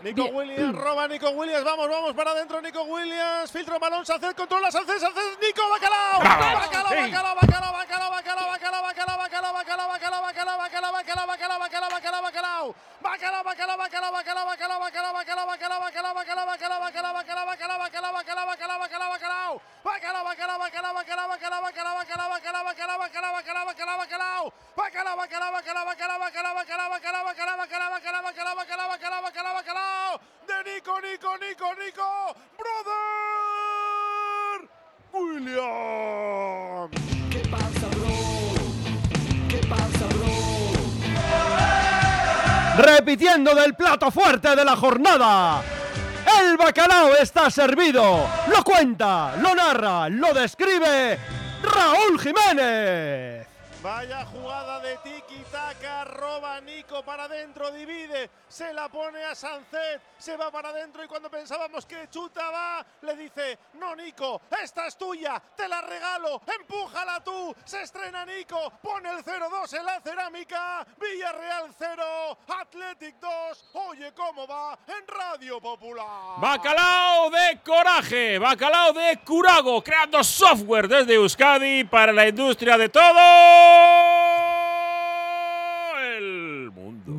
Nico Williams, roba Nico Williams, vamos para adentro, Nico Williams, filtro balón, Sánchez, controla Sánchez, Nico, Bacalao, de Nico, brother Williams. ¿Qué pasa, bro? ¿Qué pasa, bro? Repitiendo del plato fuerte de la jornada. El bacalao está servido. Lo cuenta, lo narra, lo describe Raúl Jiménez. Vaya jugada de tiki-taka, roba Nico para adentro, divide, se la pone a Sánchez, se va para adentro y cuando pensábamos que chutaba, le dice, no Nico, esta es tuya, te la regalo, empújala tú, se estrena Nico, pone el 0-2 en la cerámica, Villarreal 0, Athletic 2, oye cómo va en Radio Popular. Bacalao de coraje, bacalao de curago, creando software desde Euskadi para la industria de todo